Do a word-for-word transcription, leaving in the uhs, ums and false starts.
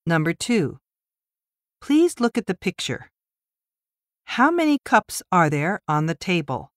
Number two. Please look at the picture. How many cups are there on the table?